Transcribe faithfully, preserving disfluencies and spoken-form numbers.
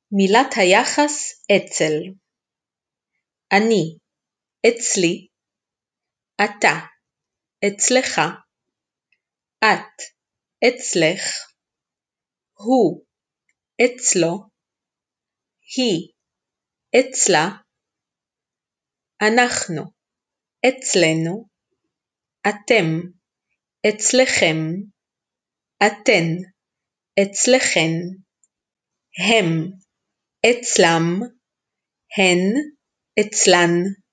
מילת היחס אצל. אני, אצלי, אתה, אצלך, את, אצלך, הוא, אצלו, היא, אצלה, אנחנו, אצלנו, אתם, אצלכם, אתן, אצלכן, הם, אצלם, הן, אצלן.